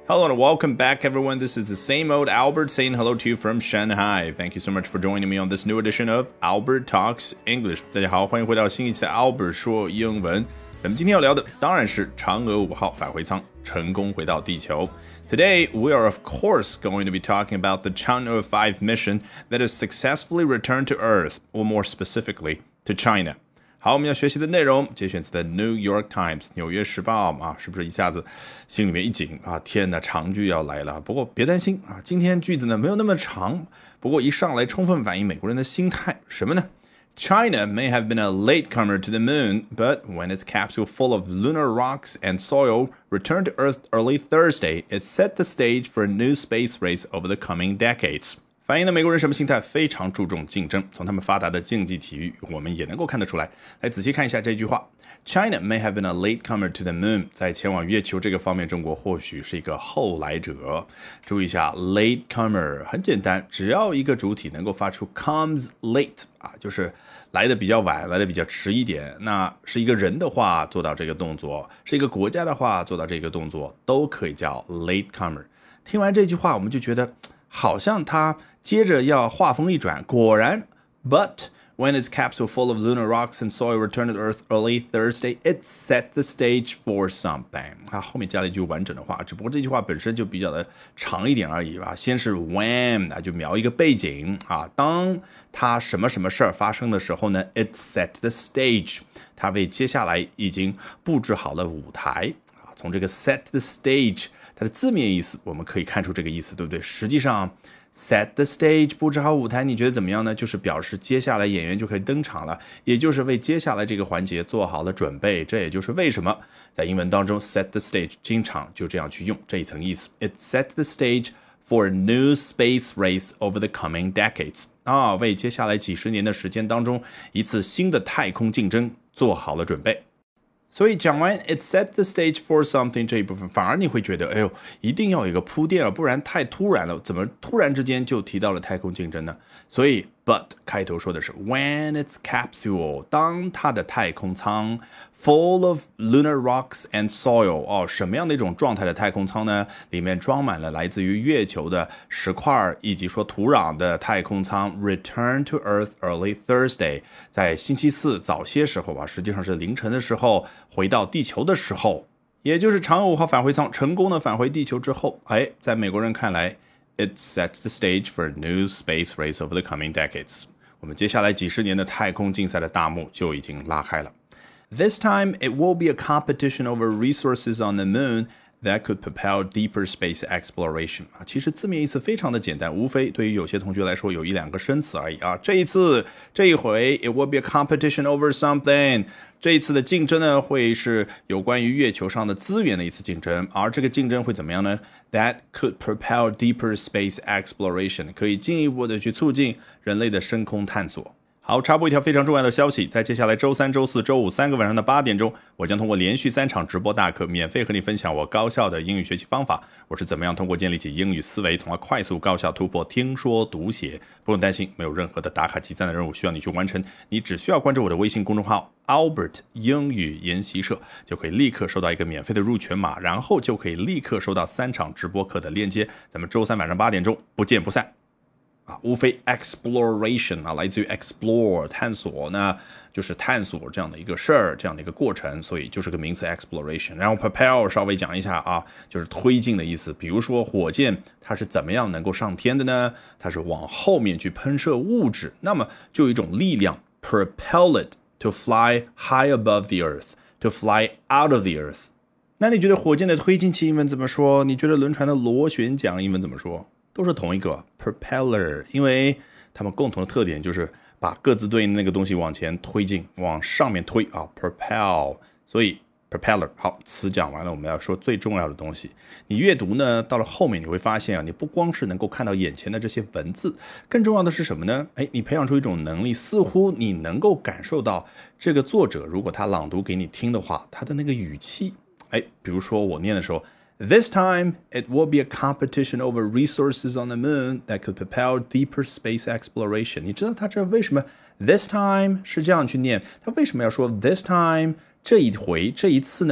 Hello and welcome back, everyone. This is the same old Albert saying hello to you from Shanghai. Thank you so much for joining me on this new edition of Albert Talks English. 大家好，欢迎回到新一期的 Albert 说英文。咱们今天要聊的当然是嫦娥5号返回舱成功回到地球。Today, we are of course going to be talking about the Chang'e 5 mission that has successfully returned to Earth, or more specifically, to China.好，我们要学习的内容节选自的 New York Times 纽约时报啊，是不是一下子心里面一紧啊？天哪，长句要来了。不过别担心啊，今天句子呢没有那么长，不过一上来充分反映美国人的心态，什么呢？China may have been a latecomer to the moon, but when its capsule full of lunar rocks and soil returned to Earth early Thursday, it set the stage for a new space race over the coming decades.反映了美国人什么心态？非常注重竞争。从他们发达的竞技体育，我们也能够看得出来。来仔细看一下这句话 ：China may have been a latecomer to the moon。在前往月球这个方面，中国或许是一个后来者。注意一下 ，latecomer 很简单，只要一个主体能够发出 comes late 啊，就是来的比较晚，来的比较迟一点。那是一个人的话做到这个动作，是一个国家的话做到这个动作，都可以叫 latecomer。听完这句话，我们就觉得好像他接着要话锋一转，果然 But when its capsule full of lunar rocks and soil returned to Earth early Thursday, it set the stage for something. 它后面加了一句完整的话，只不过这句话本身就比较的长一点而已吧。先是 when 就描一个背景啊，当它什么什么事儿发生的时候呢 ，it set the stage， 它为接下来已经布置好了舞台啊。从这个 set the stage， 它的字面意思我们可以看出这个意思，对不对？实际上set the stage 布置好舞台，你觉得怎么样呢？就是表示接下来演员就可以登场了，也就是为接下来这个环节做好了准备。这也就是为什么在英文当中 set the stage 经常就这样去用这一层意思。It set the stage for a new space race over the coming decades 啊，为接下来几十年的时间当中一次新的太空竞争做好了准备。所以讲完 it set the stage for something 这一部分，反而你会觉得哎呦，一定要有一个铺垫了，不然太突然了，怎么突然之间就提到了太空竞争呢？所以 but 开头说的是 when its capsule 当它的太空舱 full of lunar rocks and soil 什么样的一种状态的太空舱呢？里面装满了来自于月球的石块以及说土壤的太空舱 return to Earth early Thursday 在星期四早些时候实际上是凌晨的时候回到地球的时候，也就是嫦娥5号返回舱成功的返回地球之后，在美国人看来 it sets the stage for a new space race over the coming decades 我们接下来几十年的太空竞赛的大幕就已经拉开了。This time, it will be a competition over resources on the moon that could propel deeper space exploration 其实字面意思非常的简单，无非对于有些同学来说有一两个生词而已这一回 it will be a competition over something 这一次的竞争呢会是有关于月球上的资源的一次竞争，而这个竞争会怎么样呢？ That could propel deeper space exploration 可以进一步的去促进人类的深空探索。好，插播一条非常重要的消息，在接下来周三、周四、周五3个晚上的8点钟，我将通过连续3场直播大课，免费和你分享我高效的英语学习方法。我是怎么样通过建立起英语思维，从而快速高效突破听说读写。不用担心，没有任何的打卡集赞的任务需要你去完成，你只需要关注我的微信公众号 Albert 英语研习社，就可以立刻收到一个免费的入群码，然后就可以立刻收到3场直播课的链接。咱们周三晚上8点钟不见不散。无非 exploration 来自于 explore 探索，那就是探索这样的一个事儿，这样的一个过程，所以就是个名词 exploration。然后 propel 稍微讲一下就是推进的意思。比如说火箭它是怎么样能够上天的呢？它是往后面去喷射物质，那么就有一种力量 propel it to fly high above the earth, to fly out of the earth。那你觉得火箭的推进器英文怎么说？你觉得轮船的螺旋桨英文怎么说？都是同一个 propeller， 因为它们共同的特点就是把各自对应的那个东西往前推进，往上面推propel， 所以 propeller。 好，词讲完了，我们要说最重要的东西。你阅读呢，到了后面你会发现你不光是能够看到眼前的这些文字，更重要的是什么呢？你培养出一种能力，似乎你能够感受到这个作者如果他朗读给你听的话，他的那个语气。比如说我念的时候，This time, it will be a competition over resources on the moon that could propel deeper space exploration. 你知道他这为什么 this time 是这样去念？他为什么要说 this time 这一回这一次呢？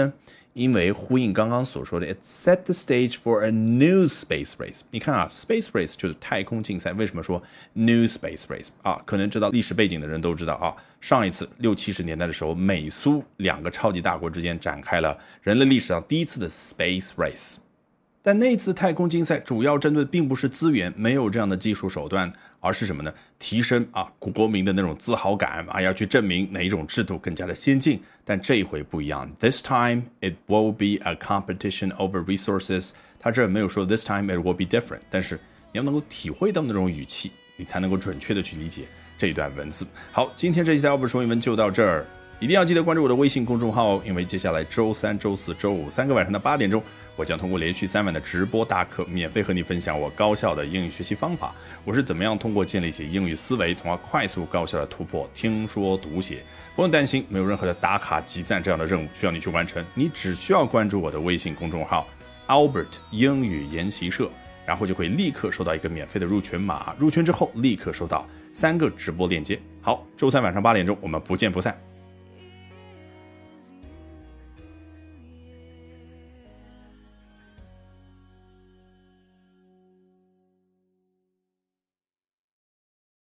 因为呼应刚刚所说的 It set the stage for a new space race。 你看啊 Space race 就是太空竞赛，为什么说 new space race 啊？可能知道历史背景的人都知道啊，上一次60、70年代的时候，美苏两个超级大国之间展开了人类历史上第一次的 space race。但那次太空竞赛主要针对的并不是资源，没有这样的技术手段，而是什么呢？提升国民的那种自豪感要去证明哪一种制度更加的先进。但这一回不一样 ，This time it will be a competition over resources。他这没有说 This time it will be different， 但是你要能够体会到那种语气，你才能够准确的去理解这一段文字。好，今天这期的Albert说英文就到这儿。一定要记得关注我的微信公众号哦，因为接下来周三、周四周五3个晚上的8点钟，我将通过连续3晚的直播大课，免费和你分享我高效的英语学习方法。我是怎么样通过建立起英语思维，从而快速高效的突破听说读写。不用担心，没有任何的打卡集赞这样的任务需要你去完成，你只需要关注我的微信公众号 Albert 英语研习社，然后就会立刻收到一个免费的入群码，入群之后立刻收到3个直播链接。好，周三晚上8点钟，我们不见不散。